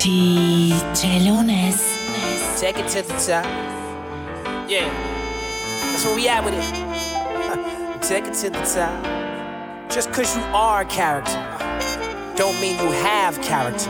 DJ Lunes. Take it to the top. Yeah, that's where we at with it. Take it to the top. Just cause you are a character don't mean you have character.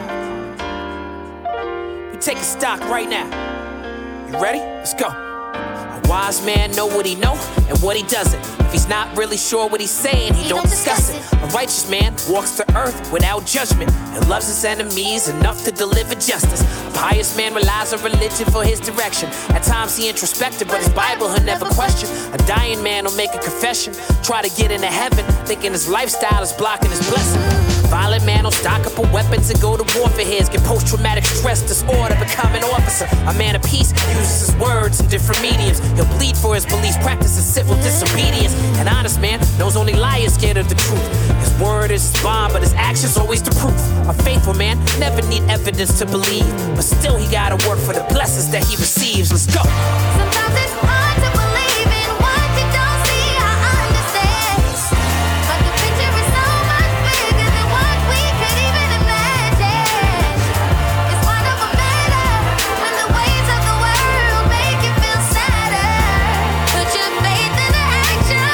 We take a stock right now. You ready? Let's go. A wise man know what he know and what he doesn't. If he's not really sure what he's saying, he don't discuss it. A righteous man walks the earth without judgment and loves his enemies enough to deliver justice. A pious man relies on religion for his direction. At times he introspective, but his Bible he'll never question. A dying man will make a confession, try to get into heaven, thinking his lifestyle is blocking his blessing. Violent man will stock up on weapons and go to war for his. Get post-traumatic stress disorder, become an officer. A man of peace uses his words in different mediums. He'll bleed for his beliefs, practices civil disobedience. An honest man knows only liars scared of the truth. His word is his bond, but his actions always the proof. A faithful man never need evidence to believe, but still he gotta work for the blessings that he receives. Let's go. Sometimes it's hard to believe in what you don't see. I understand, but the picture is so much bigger than what we could even imagine. It's one of a matter when the waves of the world make you feel sadder. Put your faith into action,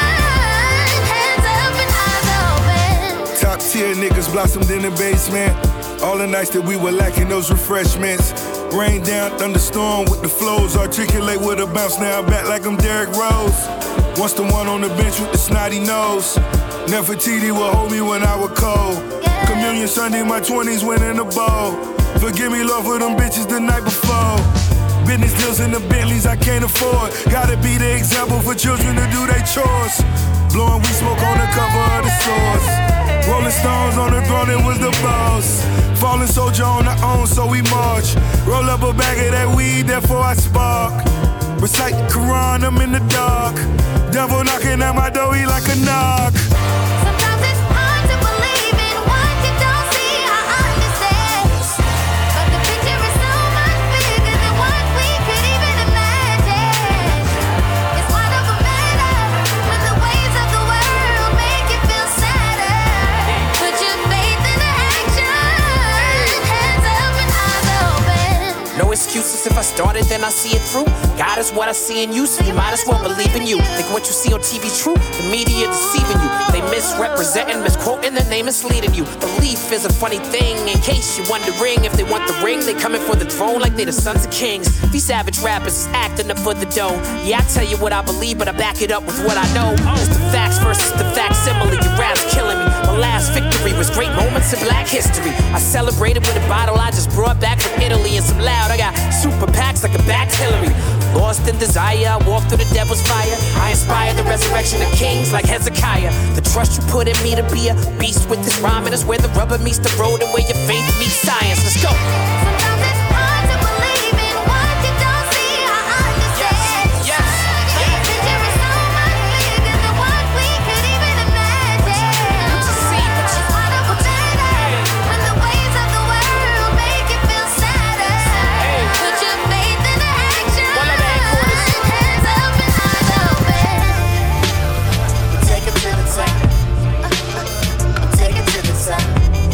hands up and eyes open. Top tier niggas blossomed in the basement. All the nights that we were lacking those refreshments. Rain down, thunderstorm with the flows. Articulate with a bounce, now I'm back like I'm Derrick Rose. Once the one on the bench with the snotty nose. Nefertiti would hold me when I was cold. Communion Sunday, my 20s winning the bowl. Forgive me, Lord, for them bitches the night before. Business deals in the Bentleys I can't afford. Gotta be the example for children to do their chores. Blowing weed smoke on the cover of the source. Rolling Stones on the throne, it was the boss. Fallen soldier on our own, so we march. Roll up a bag of that weed, therefore I spark. Recite the Quran, I'm in the dark. Devil knocking at my door, he like a knock. Sometimes it's hard to believe in what you don't see. I understand, but the picture is so much bigger than what we could even imagine. It's one of a matter when the waves of the world make you feel sadder. Put your faith into action, hands up and eyes open. No excuses, if I started then I see it through. God is what I see in you, so you might as well believe in you. Think what you see on TV true, the media deceiving you. They misrepresenting, misquoting, the name misleading you. Belief is a funny thing, in case you're wondering. If they want the ring, they coming for the throne like they the sons of kings. These savage rappers is acting up for the dough. Yeah, I tell you what I believe, but I back it up with what I know. It's the facts versus the facsimile, your rap's killing me. My last victory was great moments in black history. I celebrated with a bottle I just brought back from Italy and some loud. I got super packs like a backed Hillary. Lost in desire, I walk through the devil's fire. I inspire the resurrection of kings like Hezekiah. The trust you put in me to be a beast with this rhyming is where the rubber meets the road and where your faith meets science. Let's go. Sometimes it's hard to believe in what you don't see. I understand, Yes. but the picture is so much bigger than what we could even imagine. It's one of a matter when the waves of the world make you feel sadder. Put your faith into action, hands up and eyes open. Take it to the top. Take it to the top.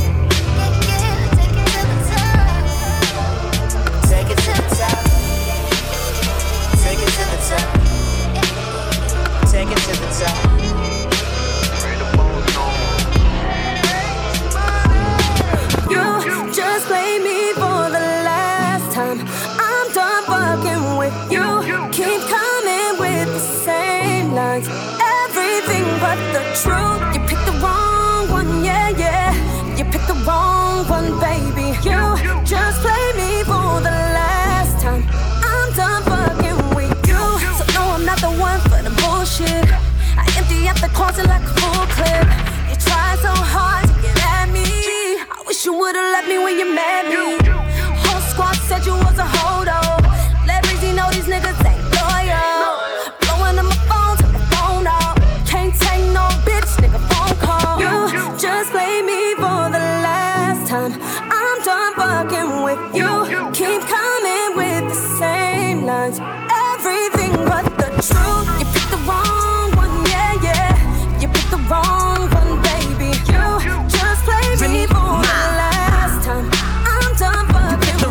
Take it to the top. Take it to the top. Take it to the top. You just play me for the last time. I'm done fucking with you. Keep coming with the same lines. Everything but the truth. You picked the wrong one, yeah, yeah. You picked the wrong one, baby. You just play me for the last time. I'm done fucking with you. So no, I'm not the one for the bullshit. I empty out the closet like a full clip. You try so hard to get at me. I wish you would've left me when you met me. Whole squad said you was a hold-up. Let Breezy know these niggas ain't loyal. Blowing on my phone, turn my phone off. Can't take no bitch, nigga phone call. You just play me for the last time. I'm done fucking with you. Keep coming with the same lines. Everything but the truth. You picked the wrong one, yeah, yeah. You picked the wrong one, baby. You just play me for the last time. I'm done fucking with you.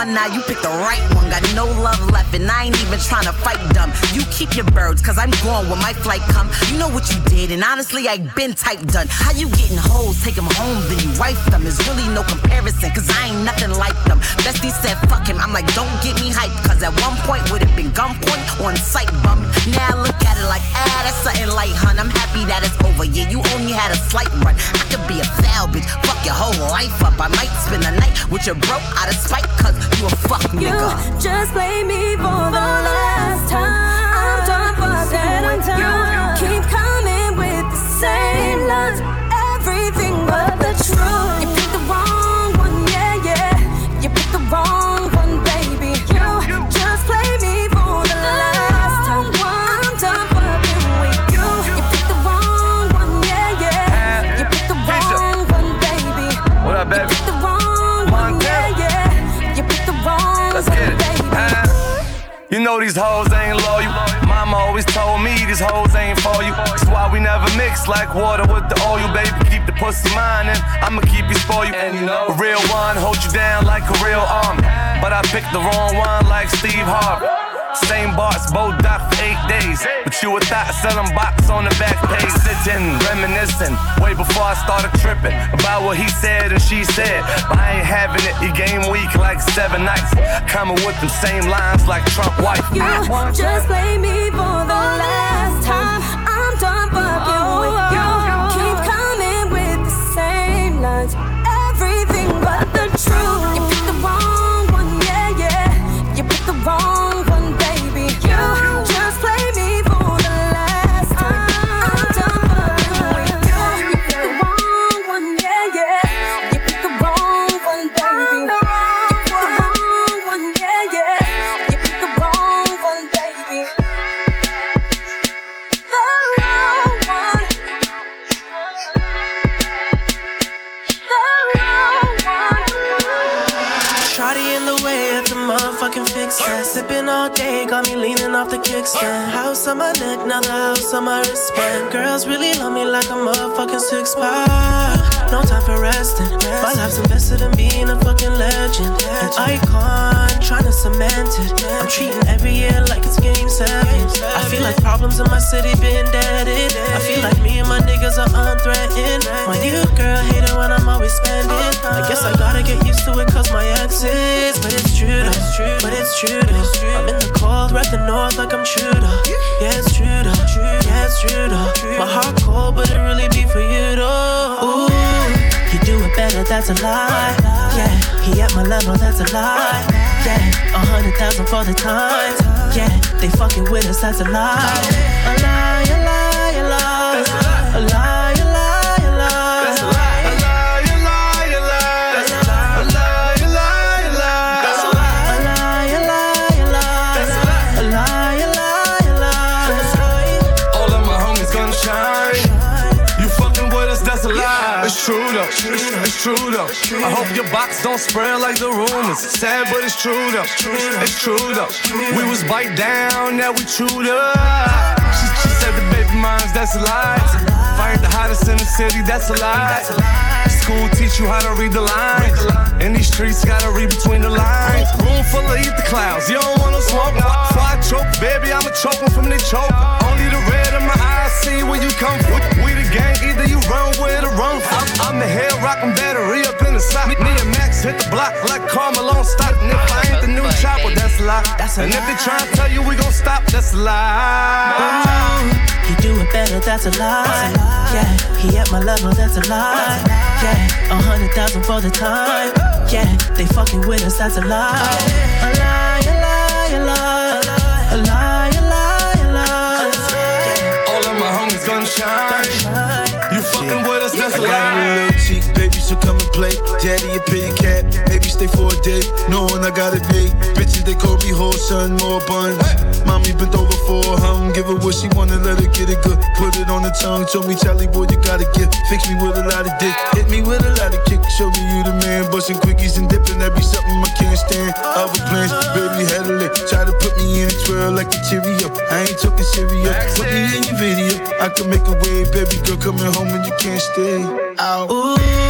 now, you picked the right one. Got no love left, and I ain't even trying to fight dumb. You keep your birds, cause I'm gone when my flight come. You know what you did, and honestly, I been type done. How you getting hoes, take them home, then you wife them? There's really no comparison, cause I ain't nothing like them. Bestie said fuck him, I'm like, don't get me hyped, cause at one point would have been gunpoint on sight bum. Now I look at it like, that's something light, hun. I'm happy that it's over, yeah, you only had a slight run. I could be a foul bitch, fuck your whole life up. I might spend the night with your bro out of spite, cause you a fuck nigga. You just play me for the last time. I'm done fucking with you. Keep coming with the same lines, everything but the truth. You picked the wrong one, yeah, yeah. You picked the wrong one, baby. You just play me for the last time. I'm done fucking with you. You picked the wrong one, yeah, yeah. You picked the wrong one, baby. What up, baby? You picked the wrong one, yeah, yeah. You picked the wrong one, baby. You know these hoes ain't loyal. Mama always told me these hoes ain't for you. That's why we never mix like water with the oil, baby. Keep the pussy mine and I'ma keep you spoiled. And you know, a real one hold you down like a real army. But I picked the wrong one like Steve Harvey. Same bars, both doc for 8 days. But you a thought selling box on the back page. Sitting, reminiscing, way before I started tripping about what he said and she said. But I ain't having it, your game weak like 7 nights. Coming with them same lines like Trump wife. You just play me for the last time. I'm done fucking with you. Keep coming with the same lines, everything but the truth. You picked the wrong one, yeah, yeah. You picked the wrong one, baby. You just play me for the last time. I'm done fucking with you. You picked the wrong one, yeah, yeah. You picked the wrong one, baby. You picked the wrong one, yeah, yeah. You picked the wrong one, baby. The wrong one. The wrong one. Shawty in the way at the motherfucking fix that. Sipping all day, got me leaning off the kickstand. House on my neck, now the house on my wristband. Girls really love me like a motherfucking six-pack. No time for resting. My life's invested in being a fucking legend. An icon, trying to cement it. I'm treating every year like it's game 7. I feel like problems in my city been deaded. I feel like me and my niggas are unthreatened. My new girl hate it when I'm always spending. I guess I gotta get used to it cause my ex is. But it's true though, but it's true though. I'm in the cold, rep the north like I'm true though. Yeah, it's true though, yeah, it's true though. My heart cold, but it really be for you though. Ooh, you do it better, that's a lie. Yeah, he at my level, that's a lie. Yeah, 100,000 for the time. Yeah, they fucking with us, that's a lie. A lie, a lie, a lie. A lie, a lie, a lie. It's true though, it's true though. I hope your box don't spread like the rumors. Sad but it's true though, it's true though. We was bite down, now we chewed up. She said the baby moms, that's a lie. Fired the hottest in the city, that's a lie. School teach you how to read the lines. In these streets, gotta read between the lines. Room full of eat the clouds, you don't wanna smoke. Before I choke, baby, I'ma choke them from the choke. Only the red in my eyes see where you come from. We the gang, either you run with or run from. I'm the head rockin' battery up in the sock. Me and Max hit the block like Carmelo stock. And if I ain't the new chopper, that's a lie. And if they try to tell you we gon' stop, that's a lie. He do it better, that's a lie. Yeah, he at my level, that's a lie. Yeah, 100,000 for the time. Yeah, they fucking with us, that's a lie. A lie, a lie, a lie. A lie, a lie, a lie. All of my homies gonna shine. You fucking with us, that's a lie. I got a little cheek, baby, so come and play. Daddy, a pay cat, maybe stay for a day. Knowing I gotta pay. Bitches, they call me whole son, more buns. Mommy bent over for her hum. Give her what she wanna, let her get it good. Put it on the tongue, told me, Charlie boy, you gotta get. Fix me with a lot of dick. Hit me with a lot of kick. Show me you the man. Busting quickies and dipping. That be something I can't stand. Other plans, baby, had a lick. Try to put me in a twirl like a Cheerio. I ain't talking cereal. Put me in your video. I can make a wave, baby girl coming home and you can't stay out. Ooh,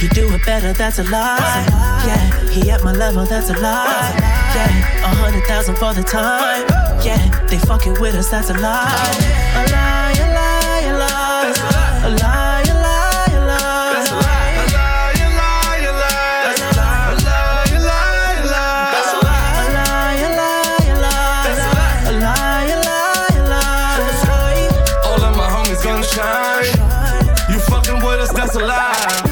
You do it better, that's a lie. Yeah, he at my level, that's a lie. Yeah, 100,000 for the time. Yeah, they fucking with us, that's a lie. A lie, a lie, a lie. A lie, a lie, a lie. That's a lie. A lie, a lie, a lie. That's a lie. A lie, a lie, a lie. That's a lie. A lie, a lie, a lie. That's a lie. A lie, a lie, a lie. All of my homies gonna shine. You fucking with us, that's a lie.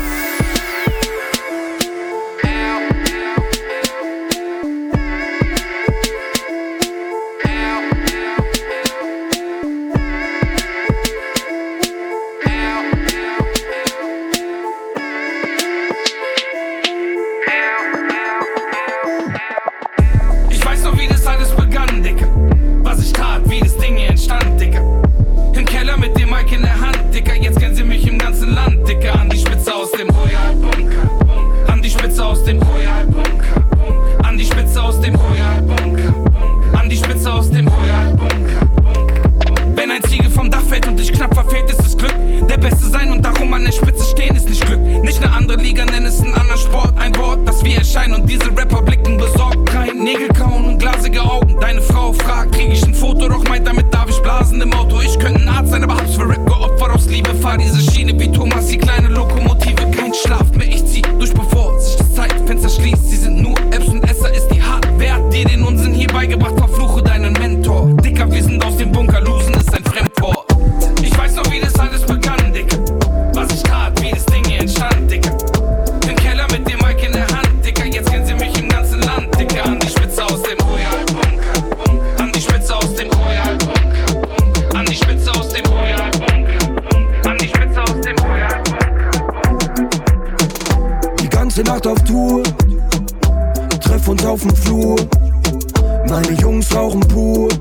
Nacht auf Tour, treff uns auf dem Flur. Meine Jungs rauchen pur,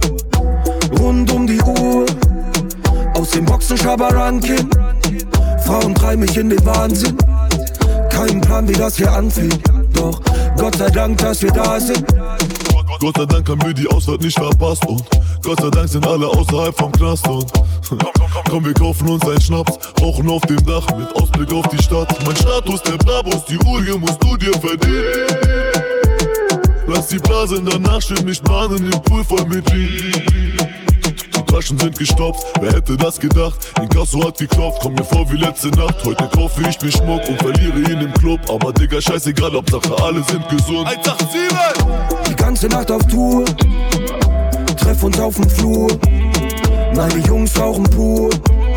rund um die Uhr. Aus dem Boxen Schabarankin, Frauen treiben mich in den Wahnsinn. Kein Plan, wie das hier anfängt, doch Gott sei Dank, dass wir da sind. Gott sei Dank haben wir die Ausfahrt nicht verpasst und Gott sei Dank sind alle außerhalb vom Knast und komm, wir kaufen uns einen Schnaps, rauchen auf dem Dach mit Ausblick auf die Stadt. Mein Status, der Brabus, die Uhr hier musst du dir verdienen. Lass die Blase danach schön nicht mahnen, im Pool voll mit Weed. Die Taschen sind gestopft, wer hätte das gedacht? Inkasso hat geklopft, komm mir vor wie letzte Nacht. Heute kaufe ich mir Schmuck und verliere ihn im Club. Aber Digga, scheißegal, Hauptsache alle sind gesund. 187! Die ganze Nacht auf Tour, treff uns auf dem Flur. Meine Jungs rauchen pur,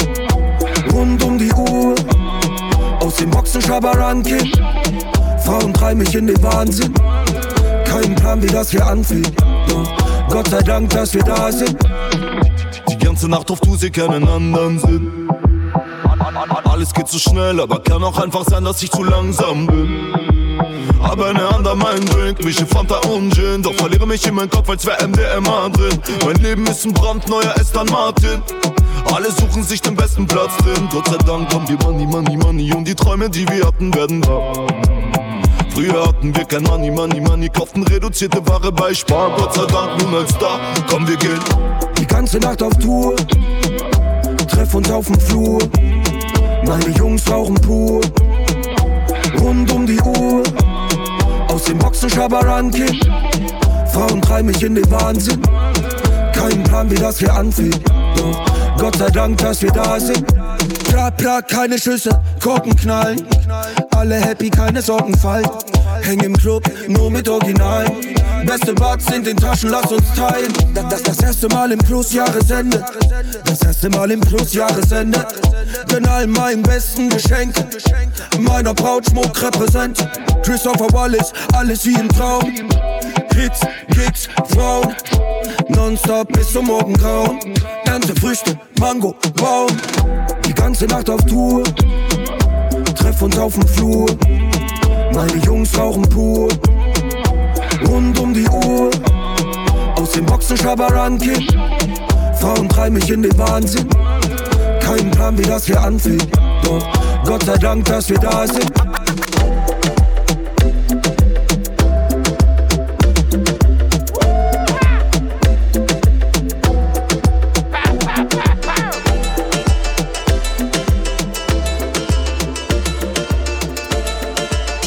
rund um die Uhr. Aus dem Boxen Schabarankin, Frauen treiben mich in den Wahnsinn. Kein Plan, wie das hier anfängt, doch Gott sei Dank, dass wir da sind. Die ganze Nacht auf Tour, sie keinen anderen Sinn. Alles geht zu schnell, aber kann auch einfach sein, dass ich zu langsam bin. Aber eine Hand an meinen Drink, mische Fanta und Gin. Doch verliere mich in meinen Kopf, als wär MDMA drin. Mein Leben ist ein brandneuer Aston Martin. Alle suchen sich den besten Platz drin. Gott sei Dank haben wir Money, Money, Money. Und die Träume, die wir hatten, werden wahr. Früher hatten wir kein Money, Money, Money. Kauften reduzierte Ware bei Spar. Gott sei Dank nun als Star. Komm, wir gehen die ganze Nacht auf Tour, treff uns auf dem Flur. Meine Jungs rauchen pur, rund um die Uhr. Aus dem Boxen Schabarankin, Frauen treiben mich in den Wahnsinn. Kein Plan, wie das hier anfängt, doch Gott sei Dank, dass wir da sind. Plat, plat, keine Schüsse, Korken knallen. Alle happy, keine Sorgen fallen. Häng im Club, nur mit Originalen. Beste Buds in den Taschen, lass uns teilen. Das erste Mal im Plus-Jahresende. Das erste Mal im Plus-Jahresende. Gönn all meinen besten Geschenke. Meiner Braut Schmuck repräsent. Christopher Wallace, alles wie im Traum. Hits, Gigs, Frauen. Nonstop bis zum Morgengrauen. Ernte Früchte, Mango, Baum. Die ganze Nacht auf Tour, treff uns auf dem Flur. Meine Jungs rauchen pur, rund um die Uhr. Aus dem Boxen Schabarankin, Frauen treiben mich in den Wahnsinn. Kein Plan, wie das hier anfängt, doch Gott sei Dank, dass wir da sind.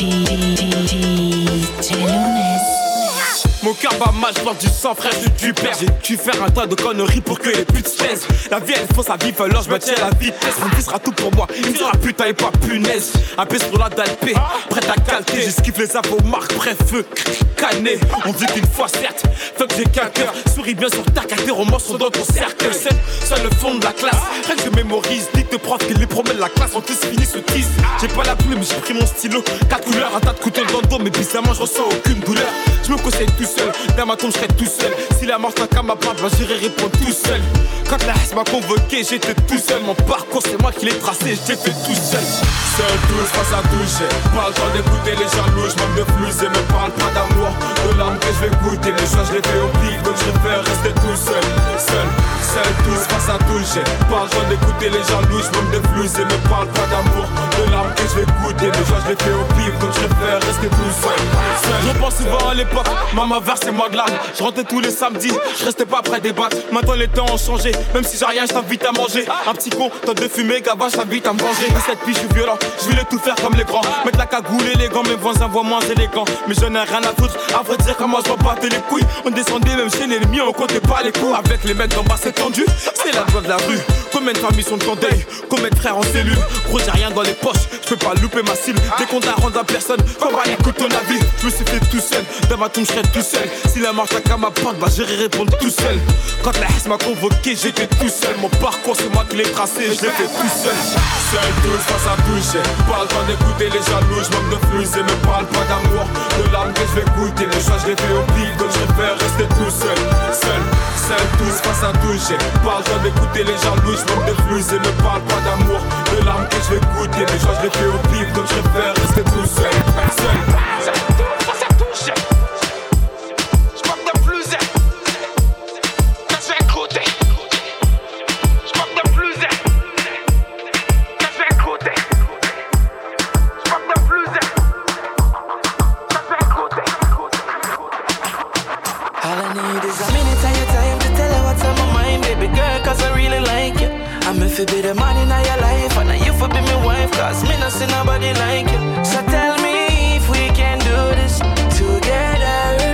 Mon cœur bat mal, je du sang, frère, du père. J'ai dû faire un tas de conneries pour que les putes se taisent. La vie elle faut sa vie, alors je me tiens à la vitesse. Mon fils sera tout pour moi, il sera putain et pas punaise. Un pèse pour la dalpé, prête à calquer. J'esquive les avos marques, bref, feu, cané. On vit qu'une fois, certes, fuck j'ai qu'un cœur. Souris bien sur ta carte, tes romans sont dans ton cercle. Seul le fond de la classe, rien que je mémorise. Dicte prof qui les promène la classe, on tous finit ce tease. J'ai pas la plume, j'ai pris mon stylo. 4 couleurs, un tas de couteaux dans le dos, mais bizarrement je ressens aucune douleur. Je me conseille tout seul, dans ma tombe je serai tout seul. Si la mort n'a qu'à ma part, j'irai répondre tout seul. Quand la S m'a convoqué, j'étais tout seul. Mon parcours c'est moi qui l'ai tracé, j'ai fait tout seul. Seul tous face à toucher, pas le temps d'écouter les jaloux. J'manque de flux et me parle pas d'amour. De l'âme que je vais goûter, les choix je les fais au pif. Donc je préfère rester tout seul. Seul tous face à toucher, pas le temps d'écouter les jaloux. J'manque de flux et me parle pas d'amour. De l'âme que je vais goûter, les choix je les fais au pif. Donc je préfère rester tout seul. Je pense souvent à l'époque, maman versait moi de larmes. Je rentrais tous les samedis, je restais pas près des battes. Maintenant les temps ont changé, même si j'ai rien, je t'invite à manger. Un petit con, tant de fumer, gaba, je t'invite à me venger. À cette pige, je suis violent, je voulais tout faire comme les grands. Mettre la cagoule et les gants, mes voisins voient moins élégants. Mais je n'ai rien à foutre, à vrai dire comment je m'en battais les couilles. On descendait même chez l'ennemi, on comptait pas les coups. Avec les mecs d'en bas c'est tendu, c'est la loi de la rue. Combien de familles sont en deuil, combien de frères en cellule. Gros j'ai rien dans les poches, je peux pas louper ma cible. Dès qu'on t'a rendu à personne, comme à l'écoute ton avis. Je me suis fait tout seul, dans ma tombe je serai tout seul. Si la marche à ma porte, j'irai répondre tout seul. Quand la S m'a convoqué, j'étais tout seul. Mon parcours c'est moi qui l'ai tracé, je l'ai fait tout seul. Seul tous face à toucher, pas le temps d'écouter les jaloux. J'manque de flux et me parle pas d'amour. De l'âme que je vais goûter, les choix je les fais au pif. Donc je préfère rester tout seul. Seul tous face à toucher, pas le temps d'écouter les jaloux. J'manque de flux et me parle pas d'amour. De l'âme que je vais goûter, les choix je les fais au pif. Donc je préfère rester tout seul. If you be the man in your life and you for be my wife, cause me not see nobody like you. So tell me if we can do this together.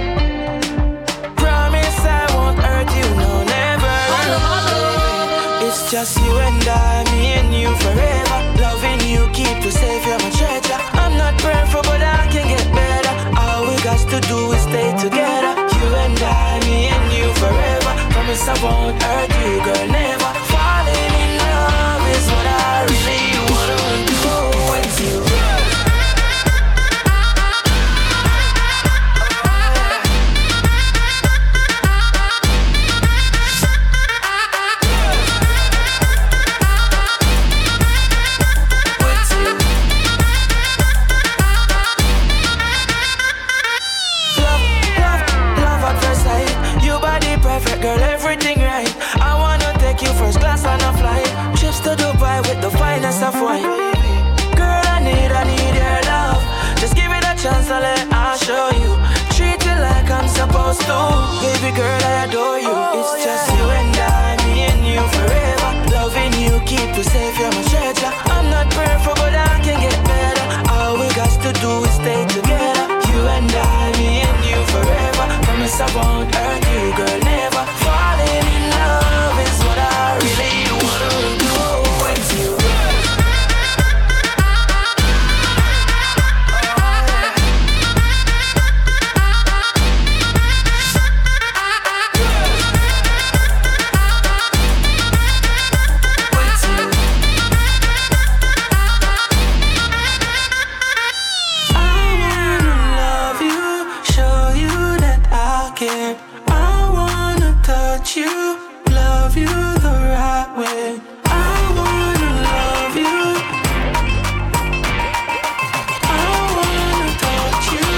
Promise I won't hurt you, no never. It's just you and I, me and you forever. Loving you, keep you safe, you're my treasure. I'm not perfect but I can get better. All we got to do is stay together. You and I, me and you forever. Promise I won't hurt you, girl, never. Falling in love is what I really wanna do with you. Love at first sight. Your body perfect, girl, everything right. I wanna take you first class on a flight. Trips to Dubai with the finest of wine. Girl, I need your love. Just give it a chance and I'll show you. Treat you like I'm supposed to. Baby girl, I adore you. It's just you and I, me and you forever. Loving you, keep you safe, you're my treasure. I'm not perfect, but I can get better. All we got to do is stay together. You and I, me and you forever. Promise I won't hurt you, girl, never. Falling in love is what I really wanna do with you. I wanna touch you, love you the right way. I wanna love you. I wanna touch you.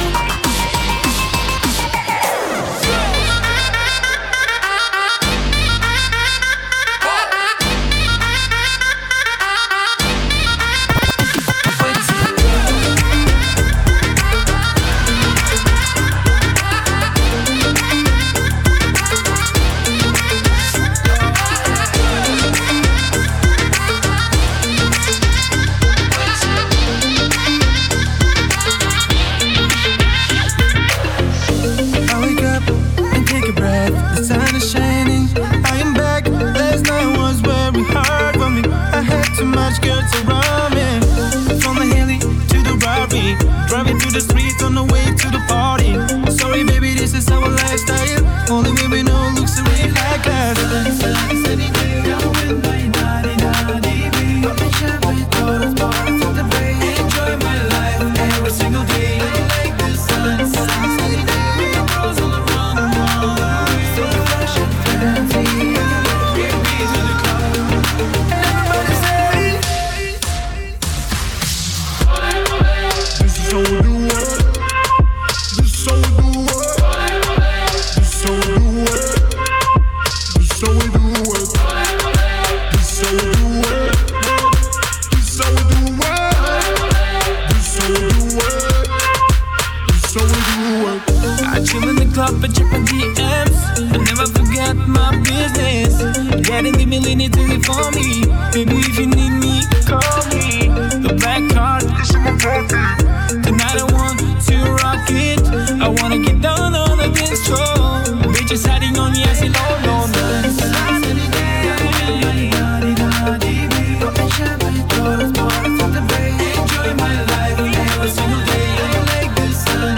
how we do it. This how we do it. This how we do it. This how we do it. This how we do it. This how we do it. This how we do it. This how we do it. I chill in the club and check my DMs. I never forget my business. Getting the million to it for me. Baby, if you need me, call me. The black card is in my pocket. Tonight I want to rock it. I wanna get down on the dance floor. Bitches hiding on me, I say no, no, no. Enjoy my life every single day. I like the sun.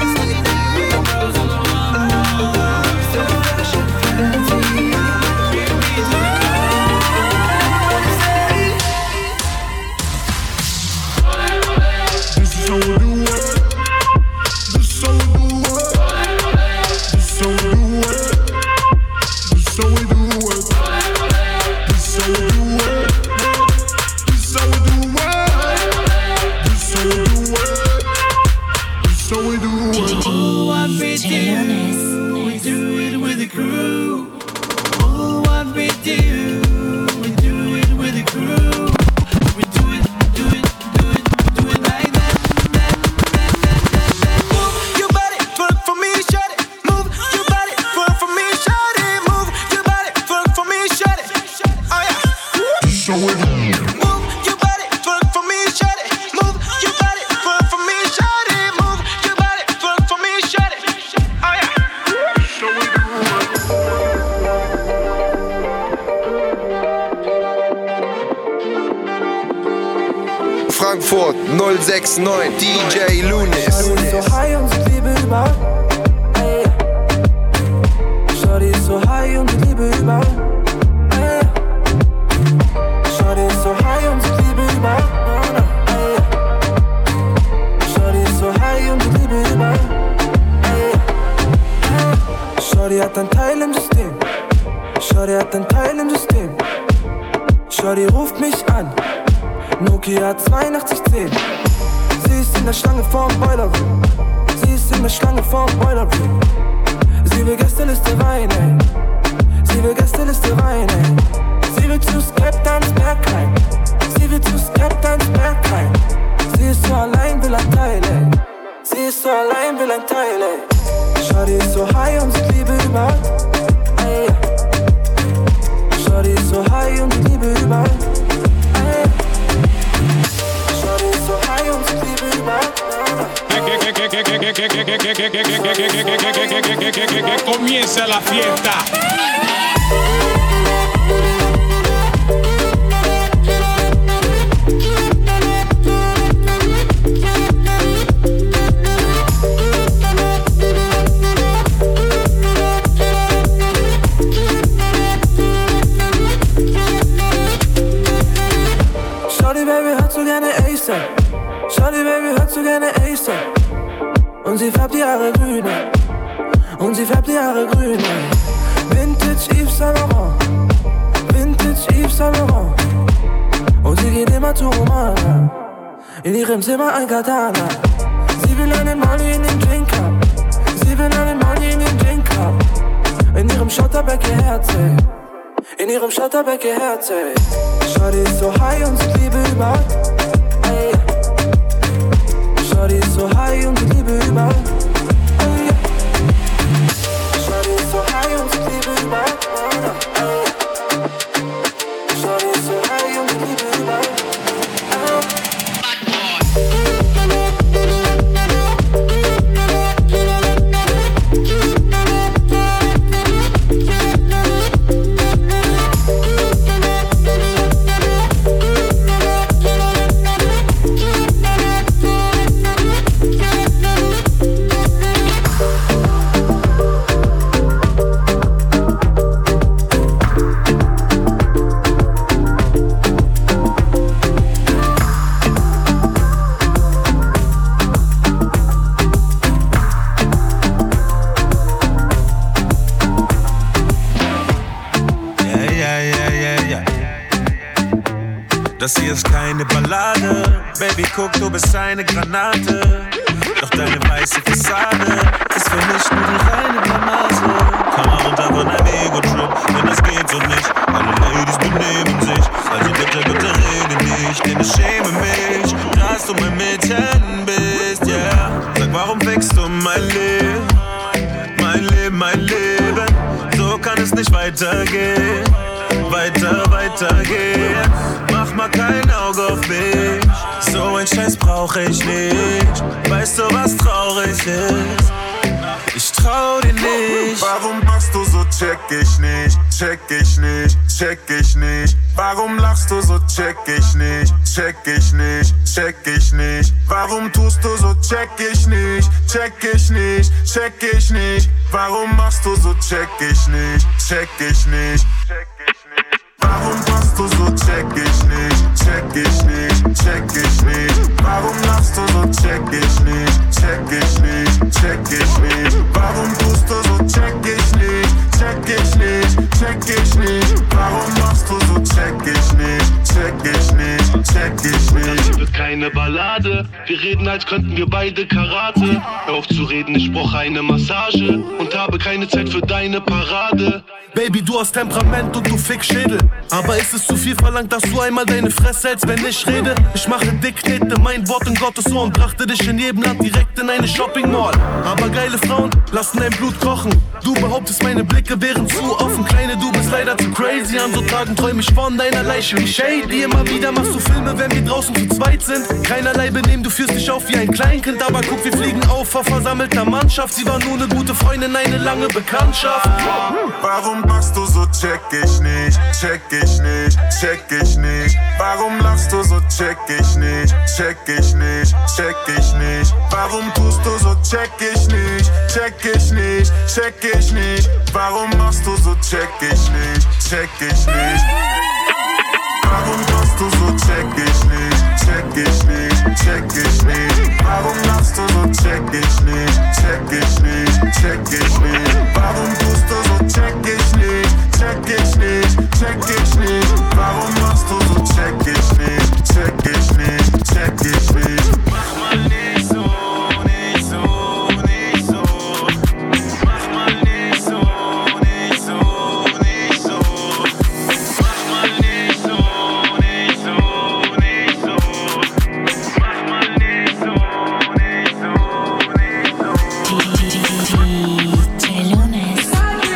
Frankfurt 069 DJ Lunis. Shorty ist so high und sie Liebe überall. Ey. Shorty ist so high und sie Liebe überall. Ey. Shorty ist so high und sie Liebe überall. Ey. Shorty ist so high und sie Liebe überall. Ey. Shorty hat ein Teil im System. Shorty hat ein Teil im System. Shorty ruft mich an. Nokia 8210. Sie ist in der Schlange vorm Boiler Room. Sie ist in der Schlange vorm Boiler Room. Sie will Gästeliste Wein, ey. Sie will Gästeliste Wein, ey. Sie will zu Skeptans Bergheim. Sie will zu Skeptans Bergheim. Sie ist so allein, will ein Teil, ey. Sie ist so allein, will ein Teil, ey. Shorty ist so high und sie Liebe überall. Ey. Shorty ist so high und sie Liebe überall. Ey. Shorty ist so high und sie Liebe überall. Que comience la fiesta. Shorty Baby hört so gerne ASAP. Shorty Baby hört so gerne ASAP. Und sie färbt die Haare grün. Und sie färbt die Haare grün. Vintage Yves Saint Laurent. Vintage Yves Saint Laurent. Und sie geht immer zu Romana. In ihrem Zimmer ein Katana. Sie will einen Molly in den Drink haben. Sie will einen Molly in den Drink haben. In ihrem Schotterbeck ihr Herz, ey. In ihrem Schotterbeck ihr Herz, ey. Shorty ist so high und sie Liebe überall. Ey. Shorty ist so high und sie Liebe überall. Ey. Shorty ist so high und sie Liebe überall. Ey. Shorty ist so high und sie Liebe überall. Das hier ist keine Ballade, Baby, guck, du bist eine Granate. Doch deine weiße Fassade ist für mich nur die reine Blamase. Komm mal runter von deinem Ego-Trip, denn das geht so nicht. Alle Ladies benehmen sich, also bitte rede nicht, denn ich schäme mich, dass du mein Mädchen bist, yeah. Sag, warum fickst du mein Leben? Mein Leben, mein Leben, so kann es nicht weitergehen. Weitergehen. Mach mal kein Auge auf mich. So ein Scheiß brauch ich nicht. Weißt du, was traurig ist? Ich trau dir nicht. Warum machst du so, check ich nicht. Check ich nicht, check ich nicht. Warum lachst du so, check ich nicht. Check ich nicht, check ich nicht. Warum tust du so, check ich nicht. Check ich nicht, check ich nicht. Warum machst du so, check ich nicht. Check ich nicht. Warum machst du so, check ich nicht, check ich nicht, check ich nicht. Warum lachst du so, check ich nicht, check ich nicht, check ich nicht. Warum tust du so, check ich nicht, check ich nicht, check ich nicht. Warum machst du so, check ich nicht, check ich nicht, check ich nicht. Das wird keine Ballade, wir reden, als könnten wir beide Karate. Hör auf zu reden, ich brauche eine Massage und habe keine Zeit für deine Parade. Baby, du hast Temperament und du fick Schädel. Aber ist es zu viel verlangt, dass du einmal deine Fresse hältst, wenn ich rede? Ich mache dick, knete mein Wort in Gottes Ohr und brachte dich in jedem Land direkt in eine Shopping Mall. Aber geile Frauen lassen dein Blut kochen. Du behauptest, meine Blicke wären zu offen. Kleine, du bist leider zu crazy. An so Tagen träum ich von deiner Leiche wie Shady. Immer wieder machst du Filme, wenn wir draußen zu zweit sind. Keinerlei Benehmen, du führst dich auf wie ein Kleinkind. Aber guck, wir fliegen auf vor versammelter Mannschaft. Sie war nur eine gute Freundin, eine lange Bekanntschaft. Warum machst du so, check ich nicht, check ich nicht, check ich nicht. Warum lachst du so, check ich nicht, check ich nicht, check ich nicht. Warum tust du so, check ich nicht, check ich nicht, check ich nicht. Warum machst du so, check ich nicht, check ich nicht. Warum machst du so, check ich nicht, check ich nicht, check ich nicht. Warum lachst du so, check ich nicht, check ich nicht, check ich nicht. Warum tust du so, check ich nicht, check ich nicht, check ich nicht. Warum machst du so, check ich nicht, check ich nicht, check ich nicht. Mach mal nicht so, nicht so, nicht so. Mach mal nicht so, nicht so, nicht so. Mach mal nicht so, nicht so, nicht so. Mach mal nicht so, nicht so, nicht so. DJ Lunes.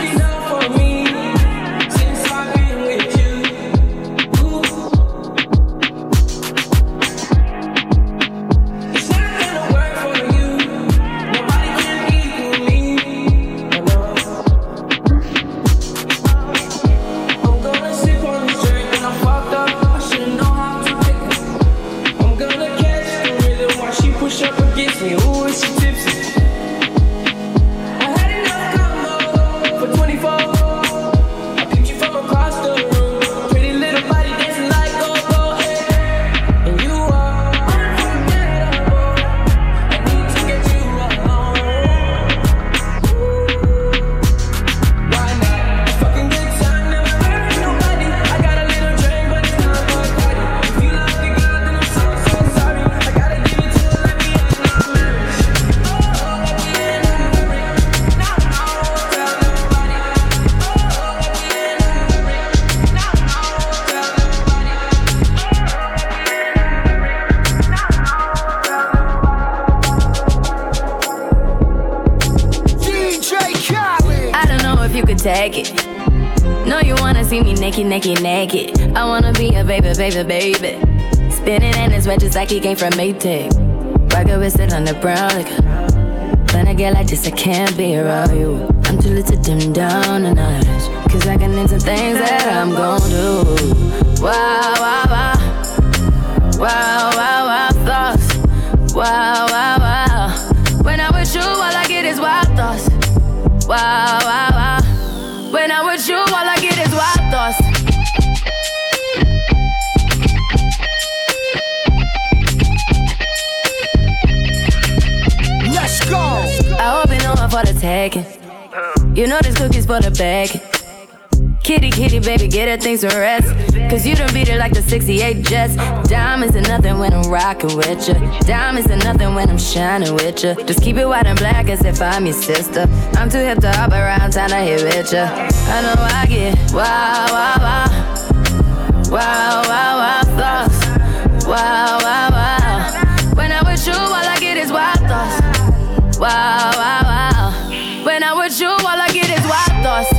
Take it. No, you wanna see me naked, naked, naked. I wanna be a baby, baby, baby. Spinning in his red just like he came from Maytag. Rocket with it on the brown liquor. When I get like this, I can't be around you. I'm too little to dim down the night. Cause I can into things that I'm gon' do. Wow, wow, wow. Wow, wow, wow, thoughts. Wow, wow, wow. When I'm with you, all I get is wild thoughts. Wow, wow, wow. When I'm with you, all I get is wild thoughts. Let's go. I hope you know I'm for the taking. You know this cookie's for the bag. Kitty, kitty, baby, get her things to rest. Cause you done beat it like the 68 Jets. Diamonds are nothing when I'm rockin' with ya. Diamonds are nothing when I'm shining with ya. Just keep it white and black as if I'm your sister. I'm too hip to hop around, time to hit with ya. I know I get wow, wow, wow. Wow, wow, wow, thoughts. Wow, wow, wow. When I'm with you, all I get is wild thoughts. Wow, wow, wow. When I'm with you, all I get is wild thoughts.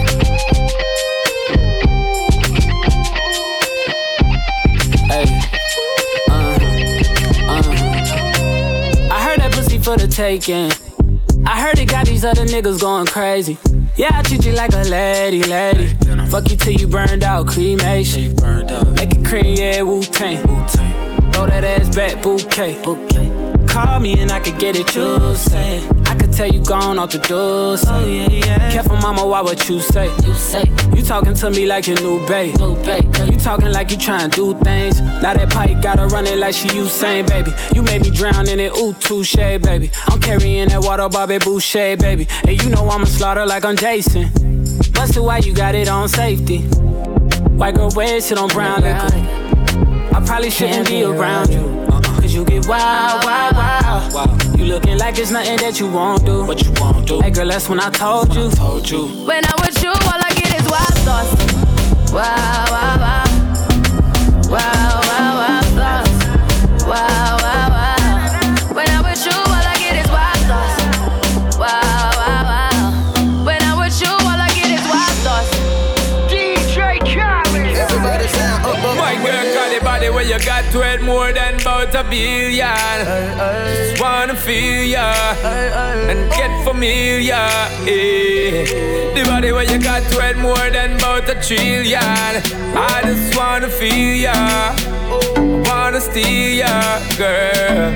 I heard that pussy for the taking. I heard it got these other niggas going crazy. Yeah, I treat you like a lady, lady. Fuck you till you burned out, cremation. Make it cream, yeah, Wu-Tang. Throw that ass back, bouquet. Call me and I could get it, you say. I could tell you gone off the doors. Oh, yeah, yeah. Careful, mama, why what you say? You talking to me like your new babe. You talking like you trying to do things. Now that pipe gotta run it like she Usain, baby. You made me drown in it, ooh, touche, baby. I'm carrying that water, Bobby Boucher, baby. And you know I'ma slaughter like I'm Jason. Busted, why you got it on safety? White girl, wear shit on brown liquor. I probably shouldn't be around you. Cause you get wild, wild, wild. You looking like it's nothing that you won't do. What you won't do? Hey girl, that's when I told you. When I'm with you, all I get is wild thoughts. Wow, wow, wow. Wow, wow, wow, thoughts. Wow, wow, wow. When I'm with you, all I get is wild thoughts. Wow, wow, wow. When I'm with you, all I get is wild thoughts. DJ Khaled. Everybody sound up, up. My girl got the body where you got to it more than about a billion. Just wanna feel ya and get familiar. Yeah. The body where you got to it more than about a trillion. I just wanna feel ya, wanna steal ya, girl.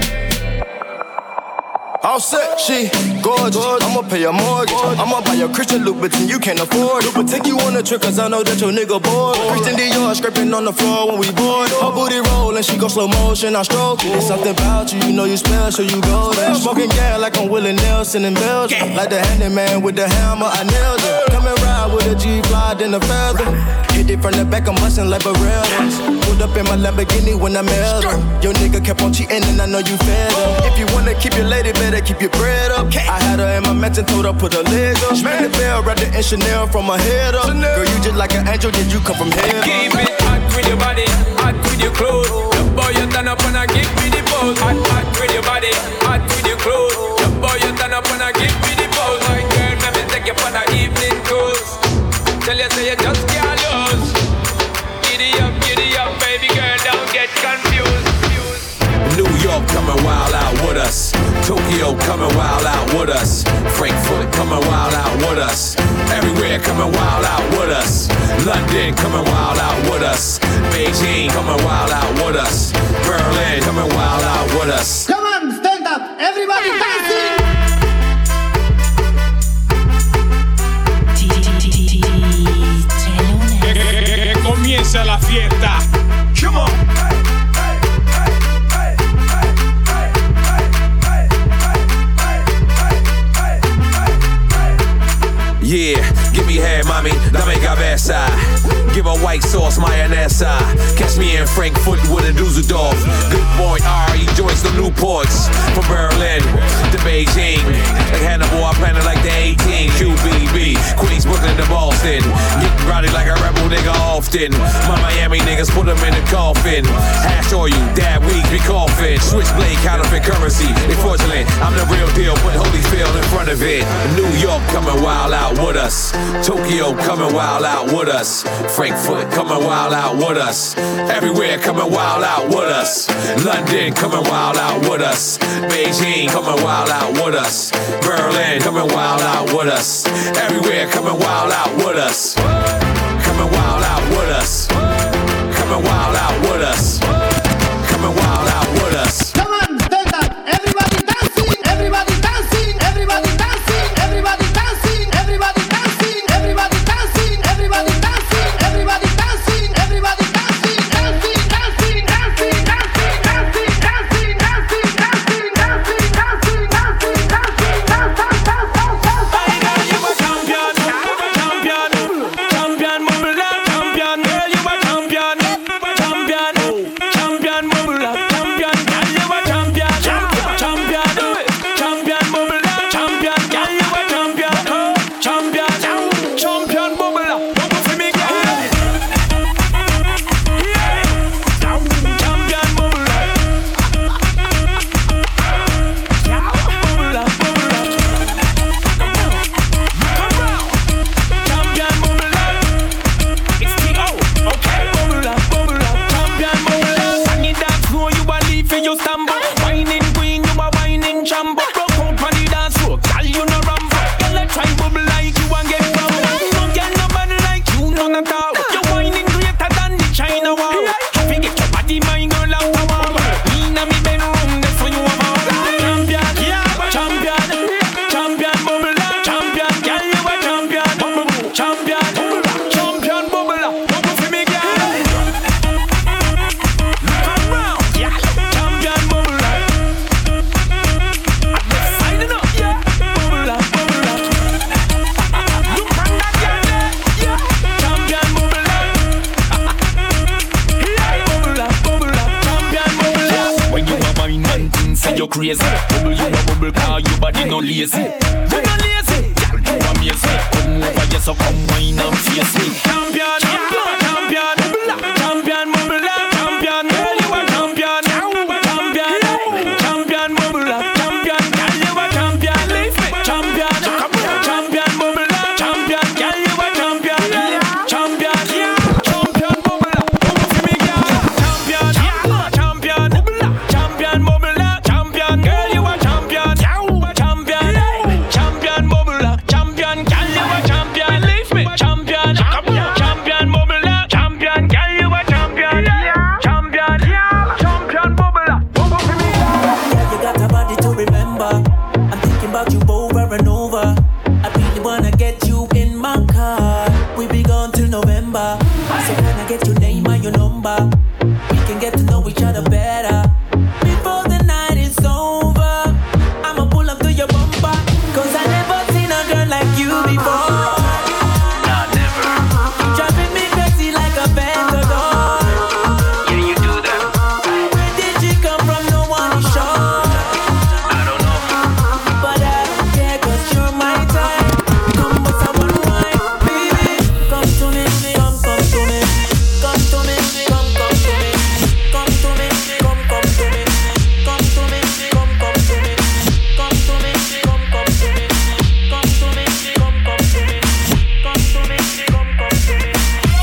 All set, she gorgeous. I'ma pay a mortgage. I'ma buy a Christian Louboutin, you can't afford it. But take you on a trip, cause I know that your nigga bored. Christian Dior scraping on the floor when we board. Her booty rollin', she go slow motion, I stroke it. There's something about you, you know you special, you golden. Smoking gas like I'm Willie Nelson in Belgium. Like the handyman with the hammer, I nailed it. Come and ride with a G-Fly, then a feather. Hit it from the back, I'm bustin' like Barreras. Pulled up in my Lamborghini when I met her. Your nigga kept on cheating and I know you fed her. If you wanna keep your lady, better keep your bread up. I had her in my mansion, told her put her leg up. Ring the bell, wrapped it in Chanel from her head up. Girl, you just like an angel, did you come from heaven? Keep it hot with your body, hot with your clothes. The boy you turn up and I give me the pose. Hot, hot with your body, hot with your clothes. The boy you turn up and I give me the pose. My girl, let me take you for the evening cruise. Tell you say you just can't lose. Giddy up, baby girl, don't get confused. New York coming wild out with us. Tokyo coming wild out with us. Frankfurt coming wild out with us. Everywhere coming wild out with us. London coming wild out with us. Beijing coming wild out with us. Berlin coming wild out with us. Come on, stand up, everybody dancing. Que comience la fiesta. Come on. Yeah, give me head, mommy, dame cabeza. Give a white sauce, mayonesa. Catch me in Frankfurt with a Dusseldorf. Good boy R, he joins the Newports. From Berlin to Beijing. Like Hannibal, I planted like the 18. QBB, Queens, Brooklyn to Boston. Getting rowdy like a rebel nigga often. My Miami niggas put them in the coffin. Hash oil, dab weeds, be coughing. Switchblade, counterfeit currency. They fraudulent, I'm the real deal, put Holyfield in front of it. New York coming wild out with us. Tokyo coming wild out with us. Frankfurt coming wild out with us. Everywhere coming wild out with us. London coming wild out with us. Beijing coming wild out with us. Berlin coming wild out with us. Everywhere coming wild out with us. Coming wild out with us. Coming wild out with us. Coming wild out with us. Come on, stand up, everybody dancing, everybody dancing, everybody dancing, everybody dancing, everybody dancing, everybody dancing, everybody dancing, everybody dancing, everybody dancing, dancing, dancing, dancing, dancing, dancing, dancing, dancing, dancing, dancing, dancing, dancing, dancing, dancing, You a champion, champion, champion, move crazy. Bubble you a bubble car, your body no lazy. You no lazy, you amazing. Come over here, so come wine and face me. Champion, champion, champion, champion, bubble up, champion. Girl, you a champion, champion, champion, bubble up, champion. Girl, you a champion, leave me, champion, champion, bubble up, champion. Girl, you a champion, champion, champion, bubble up, bubble for me, girl. Champion, champion, champion, bubble up, champion. Girl, you a champion, champion, champion, bubble up, champion. Girl, you a champion, leave me, champion, champion, bubble up, champion. Girl, you a champion, champion, champion, bubble up, bubble for me, girl. Yeah, you got a body to remember. I'm thinking about you over and over. I really wanna get you in my car. We be gone till November. So can I get your name and your number? We can get to know each other better. Before the night is over, I'ma pull up to your bumper. Cause I never seen a girl like you before. Nah, never. Driving me crazy like a Ventador. Yeah, you do that. Where did she come from? No one is sure. I don't know. But I don't care cause you're my type. Come but someone wine, baby. Come to me, come to me. Come to me, come to me. Come to me, come to me. Come to me, come to me. Come to me, come to me. Come to me, come to me. Come to me, come to me.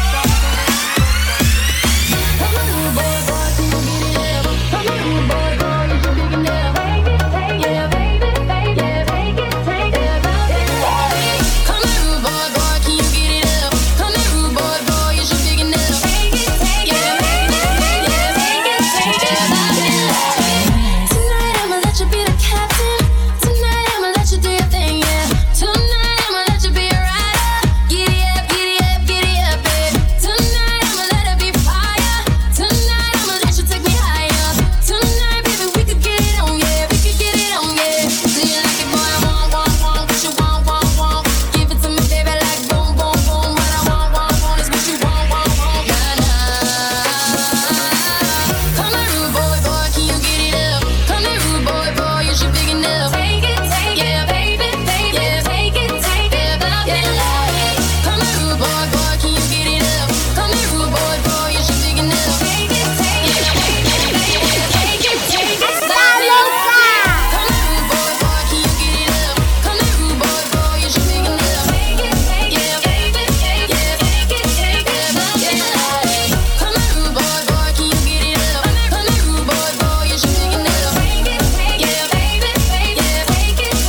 Come here, rude boy, boy, can you get it up? Come here, rude boy, boy, is you big enough? Yeah, tonight I'ma let you be the captain. Tonight I'ma let you do your thing, yeah. Tonight I'ma let you be a rider. Giddy up, giddy up, giddy up, babe. Tonight I'ma let it be fire. Tonight I'ma let you take me higher. Tonight, baby, we could get it on, yeah. We could get it on, yeah. Do you like it, boy? I want, what you want, Give it to me, baby, like boom, boom, boom. What I want is what you want, nah, nah. Come here, rude boy, boy, can you get it up? Come here, rude boy, boy, is you big enough? Yeah, baby, yeah, take it, yeah. Come here, rude boy, boy, can you get it up? Come here, rude boy, boy, is you big enough? Yeah, baby, take it, Come here, rude boy, boy, can you get it up? Come here, rude boy, boy, is you big enough? Yeah, baby, yeah, take it, Come here, rude boy, boy, can you get it up? Come here, rude boy, boy, is you big enough? Yeah, baby, yeah, take it,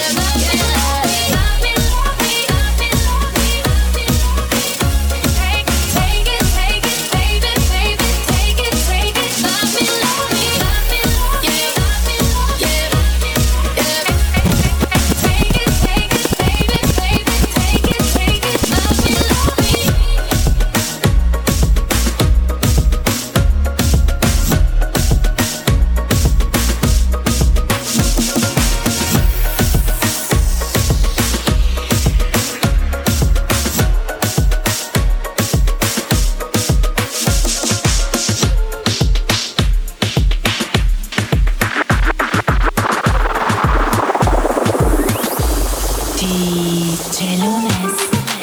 DJ Lunes.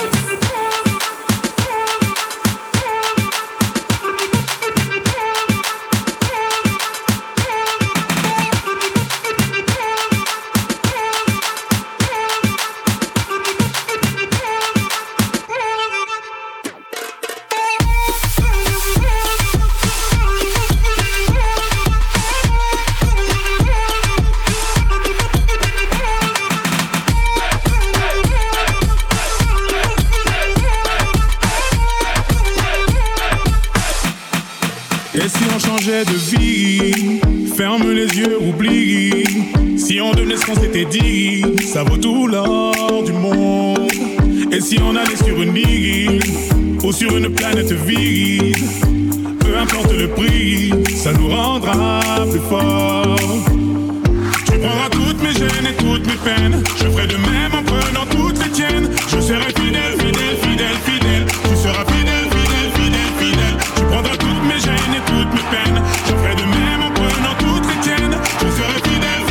Et si on changeait de vie, ferme les yeux, oublie. Si on devenait ce qu'on s'était dit, ça vaut tout l'or du monde. Et si on allait sur une île ou sur une planète vide, peu importe le prix, ça nous rendra plus forts. Tu prendras toutes mes gênes et toutes mes peines, je ferai de même en prenant toutes les tiennes. Je serai fidèle, fidèle, fidèle, fidèle. Tu seras fidèle, fidèle, fidèle, fidèle. Tu prendras toutes mes gênes et toutes mes peines, je ferai de même en prenant toutes les tiennes. Je serai fidèle,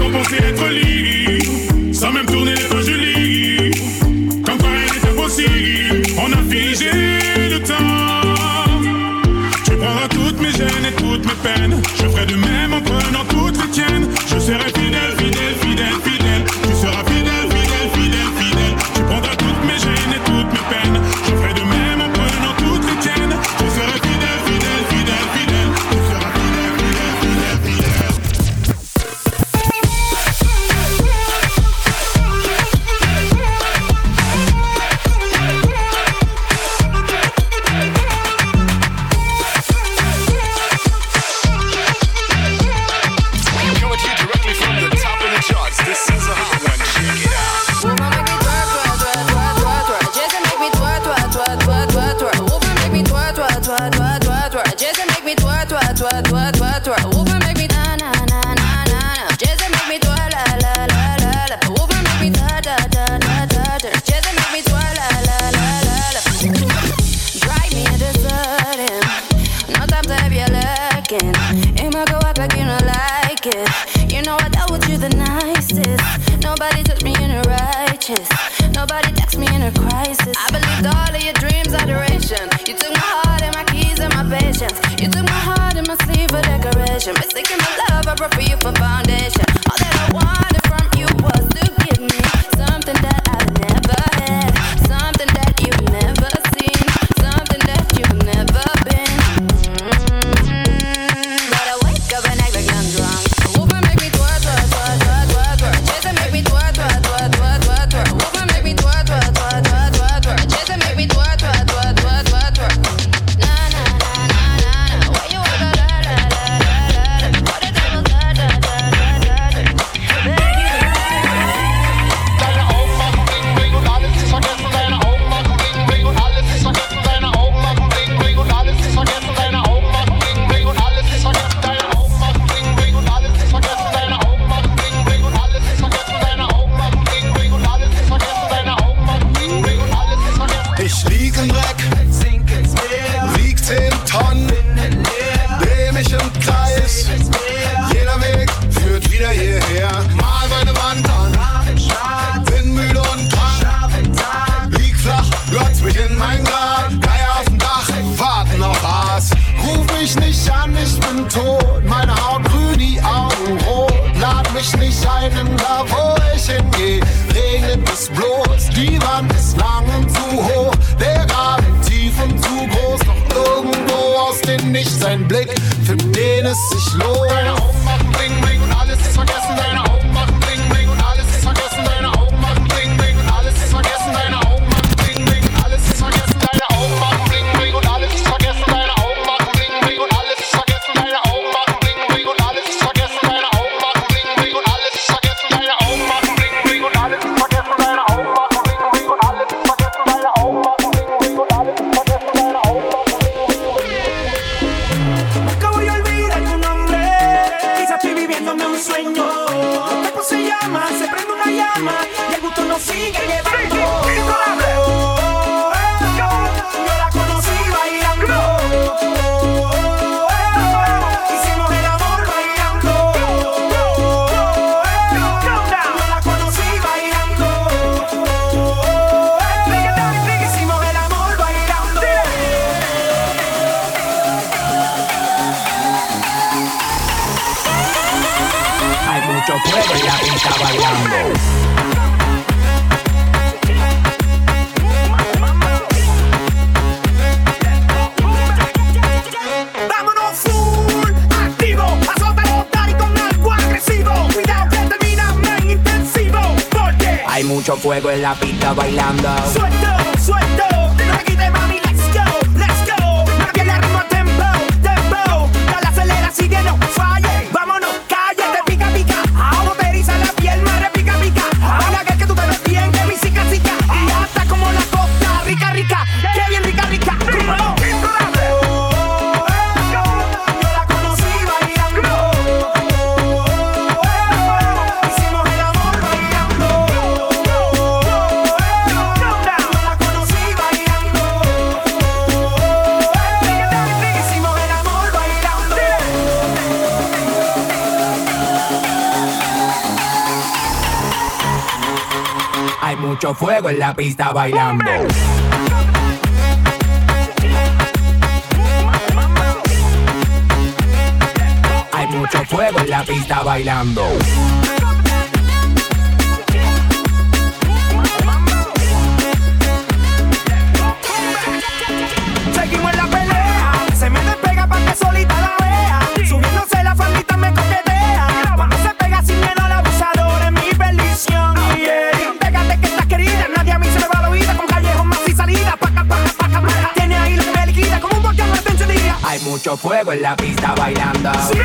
on pensait être libre, sans même tourner les fois je lis. Comme quoi rien n'est impossible, on a figé le temps. Tu prendras toutes mes gênes et toutes mes peines. Je ferai de même en prenant toutes les tiennes. Je serai fidèle, fidèle, fidèle, fidèle. Tu seras fidèle, fidèle, fidèle, fidèle. Tu prendras toutes mes gênes et toutes mes peines. Je ferai de même en prenant toutes les tiennes. Tu seras fidèle, fidèle, fidèle, fidèle. Tu seras fidèle, fidèle, fidèle, fidèle. Nobody touched me in a righteous. Nobody text me in a crisis. I believed all of your dreams, adoration. You took my heart and my keys and my patience. You took my heart and my sleeve for decoration. Mistaken my love, I brought for you for foundation. All that I wanted from you was to give me something that I've never had, something that you've never seen, something that you've never been. But I wake up and act like I'm drunk. Woman make me twerk, twerk, twerk, twerk, twerk, twerk. Jason make me twerk, twerk, twerk, twerk, twerk, twerk. Woman make me twerk, twerk, twerk, twerk, twerk, twerk. Jason make me twerk, twerk, twerk, twerk, twerk, twerk. Na na na na na na. Why you wanna la la la la la la? What the devil da da da da da da. Deine Augen machen Bling Bling und alles ist vergessen. Deine Augen machen Bling Bling und alles ist vergessen. Deine Augen machen Bling Bling und alles ist vergessen. Deine Augen machen Bling Bling und alles ist vergessen. Deine Augen machen Bling Bling und alles ist vergessen. Deine Augen machen Bling Bling und alles ist vergessen. Deine Augen machen Bling Bling und alles ist vergessen. Deine Augen machen Bling Bling und alles ist vergessen. Ich lieg im Dreck, sink ins Meer, wieg 10 Tonnen, dreh mich im Kreis. Jeder Weg führt wieder hierher. Mal meine Wand an, bin müde und krank. Lieg flach, glotz mich in mein Grab. Geier auf dem Dach, warten auf Aas. Ruf mich nicht an, ich bin tot. Meine Haut grün, die Augen rot. Lad mich nicht ein, denn da wo ich hingeh, regnet es bloß. Die Wand ist lang und zu hoch, der Graben tief und zu groß. Doch irgendwo aus dem Nichts ein Blick, für den es sich lohnt. Deine Augen machen Bling Bling und alles ist vergessen. Deine Augen machen Bling Bling und alles ist vergessen. Deine Augen machen Bling Bling und alles ist vergessen. Deine Augen machen Bling Bling und alles ist vergessen. Deine Augen machen Bling Bling und alles ist vergessen. Deine Augen machen Bling Bling und alles ist vergessen. Deine Augen machen Bling Bling und alles ist vergessen. Deine Augen machen Bling Bling und alles ist vergessen. Deine Augen machen Bling Bling und alles ist vergessen. Deine Augen machen Bling Bling und alles ist vergessen. Deine Augen machen Bling Bling und alles ist vergessen. Deine Augen machen Nunca voy a olvidar tu nombre. Quizás estoy viviéndome un sueño. El cuerpo se llama, se prende una llama y el gusto nos sigue llevando. Yo la conocí bailando. Hicimos el amor bailando. Yo la conocí bailando. Hicimos el amor bailando. Hay mucho fuego y la pinta bailando. Vámonos full, activo, azota el botar y con algo agresivo. Cuidado que terminamos en intensivo, porque Hay mucho fuego en la pista bailando. suelto, suelto, no me quites mami, let's go. Me viene al ritmo tempo, tempo. Dale acelera, sigue, no falle. Vámonos, cállate, pica, pica. Ahora te eriza la piel, madre, pica, pica. Baila que tú te ves bien, que mi cica, cica. Y hasta como la costa, rica, rica. Que bien rica, rica. Yo la conocí bailando. Hicimos el amor bailando. Yo la conocí bailando. Hay mucho fuego en la pista bailando. Hay mucho fuego en la pista bailando. Seguimos en la pelea, se me despega pa' que solita la vea. Subiéndose la faldita me coquetea. Cuando se pega sin miedo al abusador es mi perdición. Yeah. Pégate que estás querida, nadie a mí se me va la vida. Con callejón más y salida, paca, paca, paca, paca. Tiene ahí lo que me liquida como un volcán de encendida. Hay mucho fuego en la pista bailando. Sí.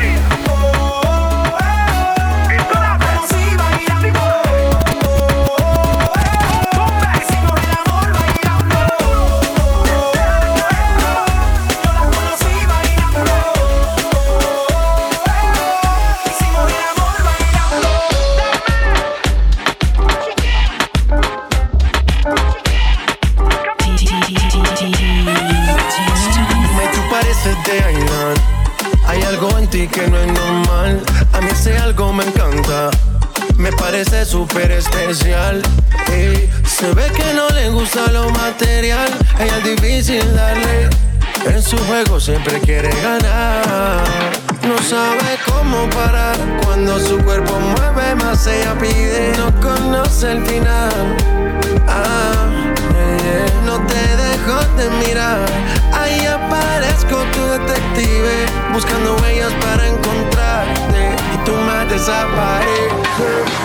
Hay algo en ti que no es normal. A mí ese algo me encanta. Me parece súper especial. Ey, se ve que no le gusta lo material. Ella es difícil darle. En su juego siempre quiere ganar. No sabe cómo parar. Cuando su cuerpo mueve más ella pide. No conoce el final. No te dejo de mirar. Ahí aparezco tu detective, buscando huellas para encontrarte. Y tú me desapareces.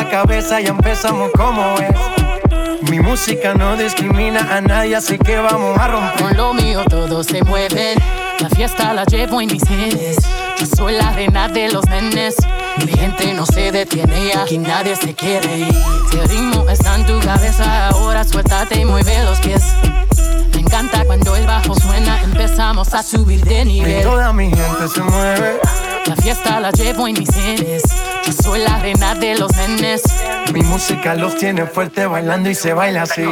la cabeza y empezamos como es. Mi música no discrimina a nadie, así que vamos a romper. Con lo mío todos se mueven, la fiesta la llevo en mis genes. Yo soy la reina de los nenes, mi gente no se detiene y aquí nadie se quiere ir. Si el ritmo está en tu cabeza, ahora suéltate y mueve los pies. Me encanta cuando el bajo suena, empezamos a subir de nivel. Y toda mi gente se mueve. La fiesta la llevo en mis genes. Yo soy la reina de los nenes. Mi música los tiene fuerte bailando y se baila así.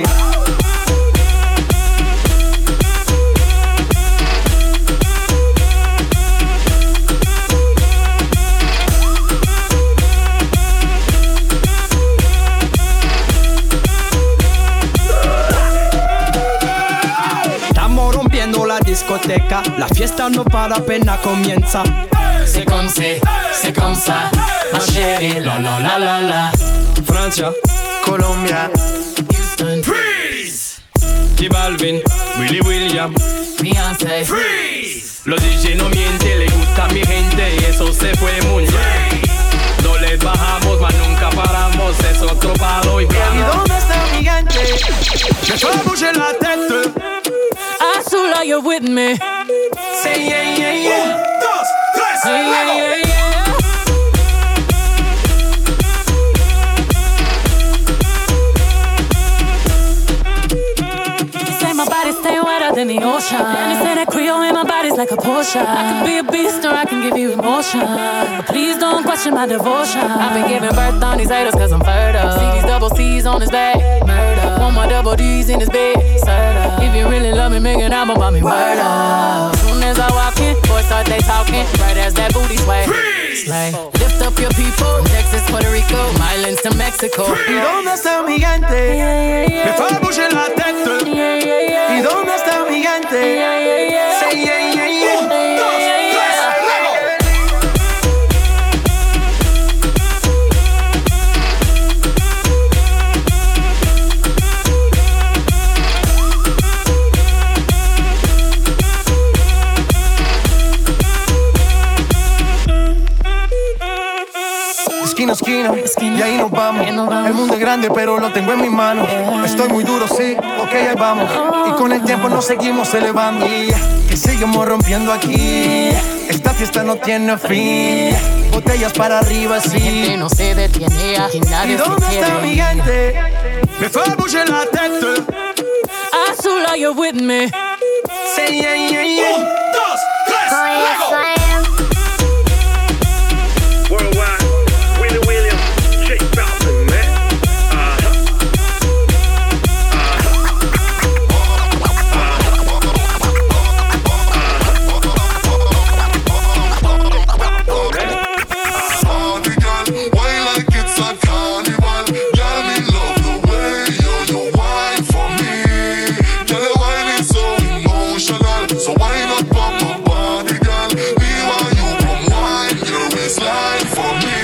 Estamos rompiendo la discoteca, la fiesta no para, apenas comienza. C'est comme ça, ma chérie, la la la la la. Francia, Colombia, Houston, Freeze. J Balvin, Willy William, Beyoncé, Freeze. Los DJ no mienten, le gusta a mi gente y eso se fue muy bien. No les bajamos, mas nunca paramos, es otro palo y plano. ¿Y dónde está mi gente? Me fue a bouger la tête. Azula, you're with me. Say yeah, yeah, yeah. Yeah, yeah, yeah, yeah. You say my body stay wetter than the ocean. And you say that Creole in my body's like a Porsche. I can be a beast or I can give you emotion, but please don't question my devotion. I've been giving birth on these haters cause I'm fertile. See these double C's on his back, murder. Want my double D's in his bed, serta. If you really love me, make an album about me, word up. Soon as I walk in, boys start they talking, right as that booty sway. Slay. Lift up your people, from Texas, Puerto Rico, Islands to Mexico. ¿Y dónde está mi gente? Yeah, yeah, yeah. Me fue a bouger la tête. Yeah, yeah, yeah. ¿Y dónde está mi gente? Yeah, yeah, yeah. Say yeah, yeah, yeah. Esquina, y ahí nos vamos. El mundo es grande, pero lo tengo en mis manos. Estoy muy duro, sí, ok, ahí vamos. Y con el tiempo nos seguimos elevando. Que seguimos rompiendo aquí. Esta fiesta no tiene fin. Botellas para arriba, sí. Mi gente no se detiene, aquí nadie se quiere. ¿Y dónde está mi gente? Me fue a bouger la tête. Azula, you're with me. Say yeah, yeah, yeah. 1, 2, 3, yes, I am. Worldwide. William, J Balvin, man. So why not pop my body, girl? Me want you come wine your waistline for me.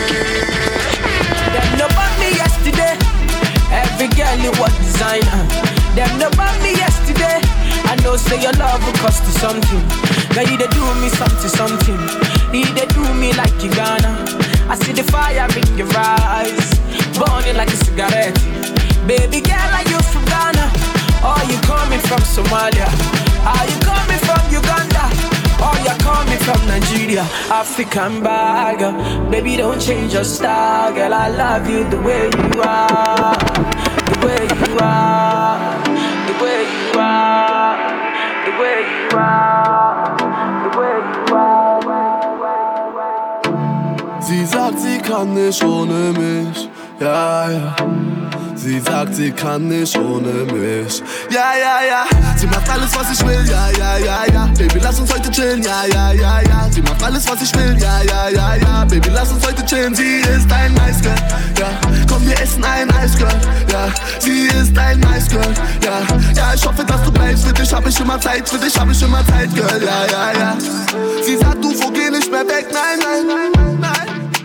Them no bought me yesterday. Every girl you was designer. Them no bought me yesterday. I know say your love will cost you something. Now you they do me something. You they do me like you gonna. I see the fire in your eyes, burning like a cigarette. Baby girl, are you from Ghana? Or you coming from Somalia? Are you coming from Uganda? Or you coming from Nigeria? African bagger. Baby, don't change your style, girl. I love you the way you are. The way you are. The way you are. The way you are. The way you are. Sie sagt, sie kann nicht ohne mich. Ja, ja. Sie sagt, sie kann nicht ohne mich. Ja, ja, ja. Sie macht alles, was ich will. Ja, ja, ja, ja. Baby, lass uns heute chillen. Ja, ja, ja, ja. Sie macht alles, was ich will. Ja, ja, ja, ja. Baby, lass uns heute chillen. Sie ist ein Nice Girl. Ja, komm, wir essen ein Eisgirl. Ja, sie ist ein Nice Girl. Ja, ja, ich hoffe, dass du bleibst. Für dich hab ich immer Zeit. Für dich hab ich immer Zeit, Girl. Ja, ja, ja. Sie sagt, du geh nicht mehr weg. Nein, nein, nein, nein, nein.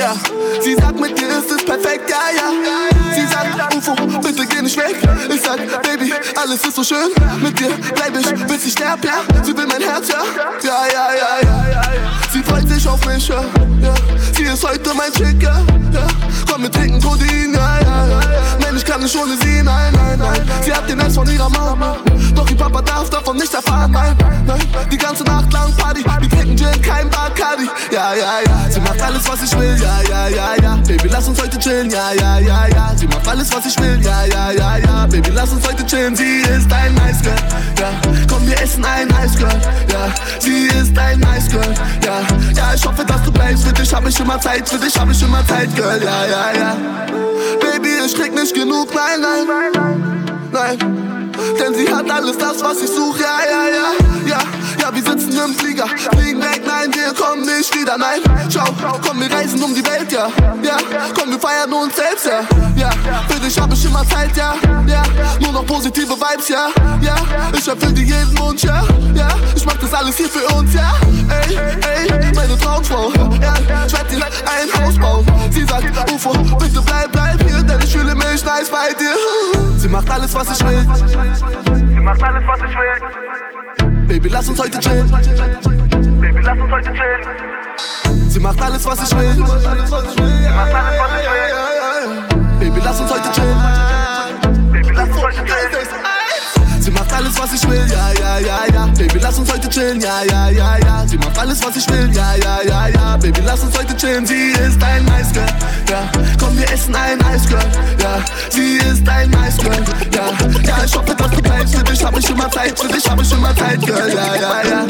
ja. Sie sagt, mit dir ist es perfekt, ja, ja. Sie sagt, UFO, bitte geh nicht weg. Ich sag, Baby, alles ist so schön. Mit dir bleib ich, bis ich sterb, ja. Sie will mein Herz, ja. Ja, ja, ja, ja, ja. Sie freut sich auf mich, ja. Sie ist heute mein Chick, ja. Komm, wir trinken Codein, ja, ja, ja. Nein, ich kann nicht ohne sie, nein, nein, nein. Sie hat den Ex von ihrer Mama, doch ihr Papa darf davon nicht erfahren, nein, nein. Die ganze Nacht lang Party, wir trinken Gin, kein Bacardi, ja, ja, ja. Sie macht alles, was ich will, ja, ja, ja, ja. Baby, lass uns heute chillen, ja, ja, ja, ja. Sie macht alles, was ich will, ja, ja, ja, ja. Baby, lass uns heute chillen, sie ist ein Nice Girl, ja. Komm, wir essen ein Ice Girl, ja. Sie ist ein Nice Girl, ja. Ja, ich hoffe, dass du bleibst, für dich hab ich immer Zeit, für dich hab ich immer Zeit, Girl, ja, ja, ja. Baby, ich krieg nicht genug, nein, nein, nein. Denn sie hat alles das, was ich such, ja, ja, ja, ja. Ja, wir sitzen im Flieger, fliegen weg, nein, wir kommen nicht wieder, nein. Ciao, komm, wir reisen um die Welt, ja, ja. Komm, wir feiern uns selbst, ja, ja. Für dich hab ich immer Zeit, ja, ja. Nur noch positive Vibes, ja, ja. Ich erfüll dir jeden Wunsch, ja, ja. Ich mach das alles hier für uns, ja. Ey, ey, meine Traumfrau, ja. Ich werd dir ein Haus bauen. Sie sagt, UFO, bitte bleib hier, denn ich fühle mich nice bei dir. Sie macht alles, was ich will. Sie macht alles, was ich will. Baby, lass uns heute chillen. Baby, lass uns heute chillen. Sie macht alles, was ich will. Sie macht alles, was ich will. Baby, lass uns heute chillen. Baby, lass uns heute chillen. Sie macht alles, was ich will, ja, ja, ja, ja. Baby, lass uns heute chillen, ja, ja, ja, ja. Sie macht alles, was ich will, ja, ja, ja, ja. Baby, lass uns heute chillen, sie ist ein Nice Girl, ja. Komm, wir essen ein Ice Girl, ja. Sie ist ein Nice Girl, ja. Ja, ich hoffe, dass du bleibst, für dich hab ich immer Zeit, für dich hab ich immer Zeit, Girl, ja, ja, ja.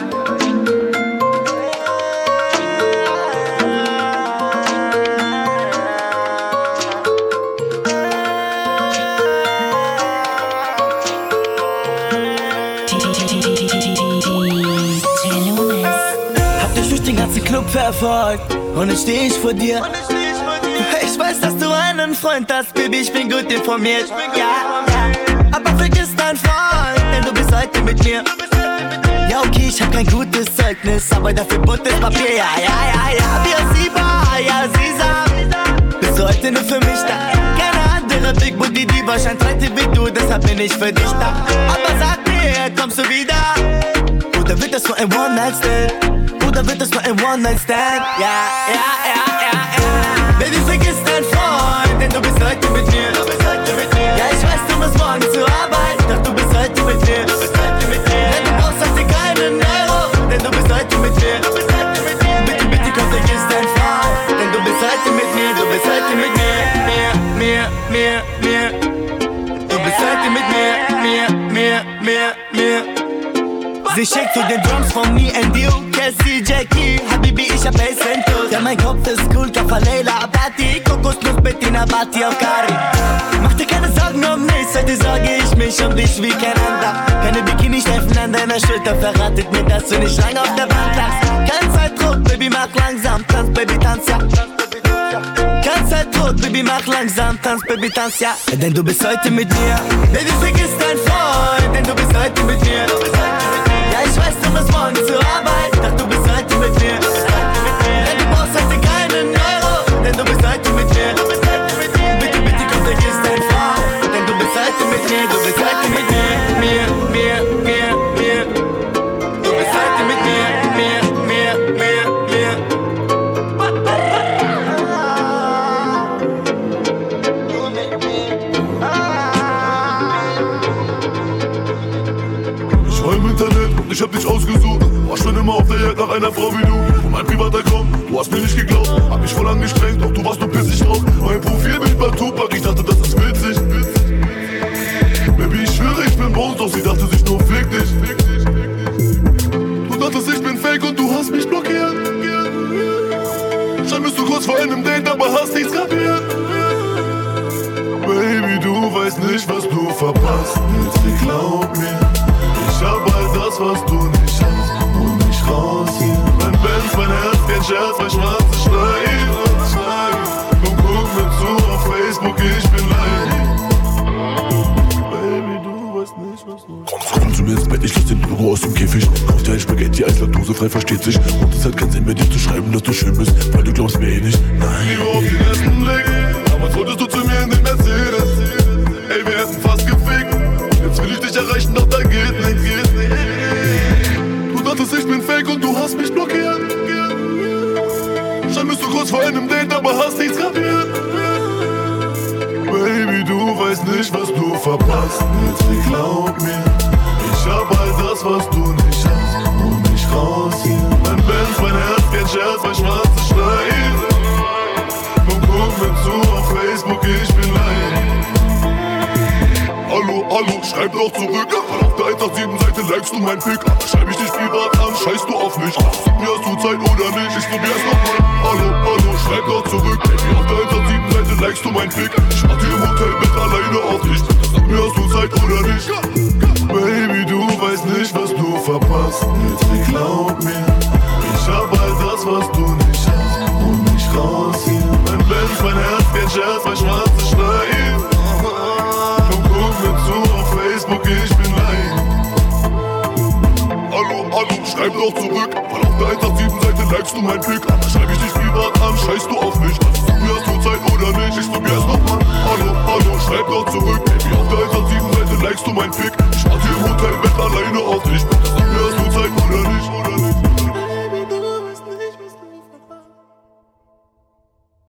Club verfolgt und jetzt steh ich vor dir. Ich weiß, dass du einen Freund hast, Baby, ich bin gut informiert. Ja, aber vergiss deinen Freund, denn du bist heute mit mir. Ja, okay, ich hab kein gutes Zeugnis, aber dafür buntes Papier. Ja, ja, ja, ja, wie sie war, ja, sie sagt, bist du heute nur für mich da. Keine andere Big Booty Diva scheint heute wie du, deshalb bin ich für dich da. Aber sag mir, kommst du wieder? Oder wird das nur ein One-Night-Stand? Oder wird das nur ein One-Night-Stand? Ja, ja, ja, ja, ja. Baby, vergiss deinen Freund, denn du bist heute mit mir. Ja, ich weiß, du musst morgen zur Arbeit, doch du bist heute mit mir. Denn du brauchst heute keinen Euro, denn du bist heute mit mir. Bitte, bitte, komm, vergiss deinen Freund, denn du bist heute mit mir, du bist heute mit mir. Mir. Du bist heute mit mir. Sie schickt zu den Drums von me and you. Cassie, Jackie, Habibi, ich hab Ace Ventus. Ja, mein Kopf ist cool, Kaffa, Leila, Abati. Kokosnuss, Bettina, Bati, auf Kari. Mach dir keine Sorgen um nichts, heute sorge ich mich um dich wie kein anderer. Keine Bikini-Streifen an deiner Schulter verratet mir, dass du nicht lange auf der Bank lagst. Kein Zeitdruck, Baby, mach langsam, tanz, Baby, tanz, ja. Kein Zeitdruck, Baby, mach langsam, tanz, Baby, tanz, ja. Denn du bist heute mit mir. Baby, vergiss deinen Freund, denn du bist heute mit mir. Ja, ich weiß, du musst morgen zur Arbeit, doch du bist heute mit mir. Denn du brauchst heute keinen Euro, denn du bist heute mit mir. Bitte, bitte, komm, vergiss deinen Freund, denn du bist heute mit mir, du bist heute mit mir. Du bist heute mit mir. Ich war im Internet und ich hab dich ausgesucht. War schon immer auf der Jagd nach einer Frau wie du. Und mein Privataccount, du hast mir nicht geglaubt. Hab mich voll angestrengt, doch du warst nur pissig drauf. Mein Profilbild war Tupac, ich dachte, das ist witzig. Baby, ich schwöre, ich bin Bones, doch sie dachte sich nur, fick dich. Du dachtest, ich bin fake und du hast mich blockiert. Schon bist du kurz vor einem Date, aber hast nichts kapiert. Baby, du weißt nicht, was du verpasst. Jetzt glaub mir, ich hab all das, was du nicht hast. Hol mich raus hier. Mein Benz, mein Herz, kein Scherz, mein schwarze Schleim. Komm, guck mir zu auf Facebook, ich bin live. Baby, du weißt nicht, was du... Komm zu mir ins Bett, ich lass den Logo aus dem Käfig. Kauf dir dein Spaghetti, Eisladose frei, versteht sich. Und es hat keinen Sinn mehr, dir zu schreiben, dass du schön bist, weil du glaubst mir eh nicht. Nein. Liebe auf den ersten Blick, damals wolltest du zu mir in den Mercedes. Ey, wir hätten fast gefickt, jetzt will ich dich erreichen, doch da geht nicht. Du dachtest, ich bin fake und du hast mich blockiert. Schon bist du kurz vor einem Date, aber hast nichts kapiert. Baby, du weißt nicht, was du verpasst. Jetzt glaub mir, ich hab all das, was du nicht hast. Und nicht raus hier. Mein Benz, mein Herz, kein Scherz, mein schwarzes Schleife. Komm, guck mir zu auf Facebook, ich bin live. Hallo, schreib doch zurück. Weil auf der 187-Seite likest du mein Pick. Aber schreib ich dich privat an, scheißt du auf mich. Sag mir, hast du Zeit oder nicht? Ich probier's nochmal. Hallo, schreib doch zurück. Baby, auf der 187-Seite likest du mein Pick. Ich warte im Hotelbett alleine auf dich. Sag mir, hast du Zeit oder nicht? Baby, du weißt nicht, was du verpasst. Jetzt glaub mir, ich hab all das, was du nicht hast. Und nicht raus hier. Mein Benz, mein Herz, kein Scherz, mein schwarzes Schleife. Komm, guck mir zu auf Facebook, ich bin live. Hallo, schreib doch zurück. Weil auf der 187-Seite likest du mein Pick. Aber schreib ich dich privat an, scheißt du auf mich. Sag mir, hast du Zeit oder nicht? Ich probier's nochmal. Hallo, schreib doch zurück. Baby, auf der 187-Seite likest du mein Pick.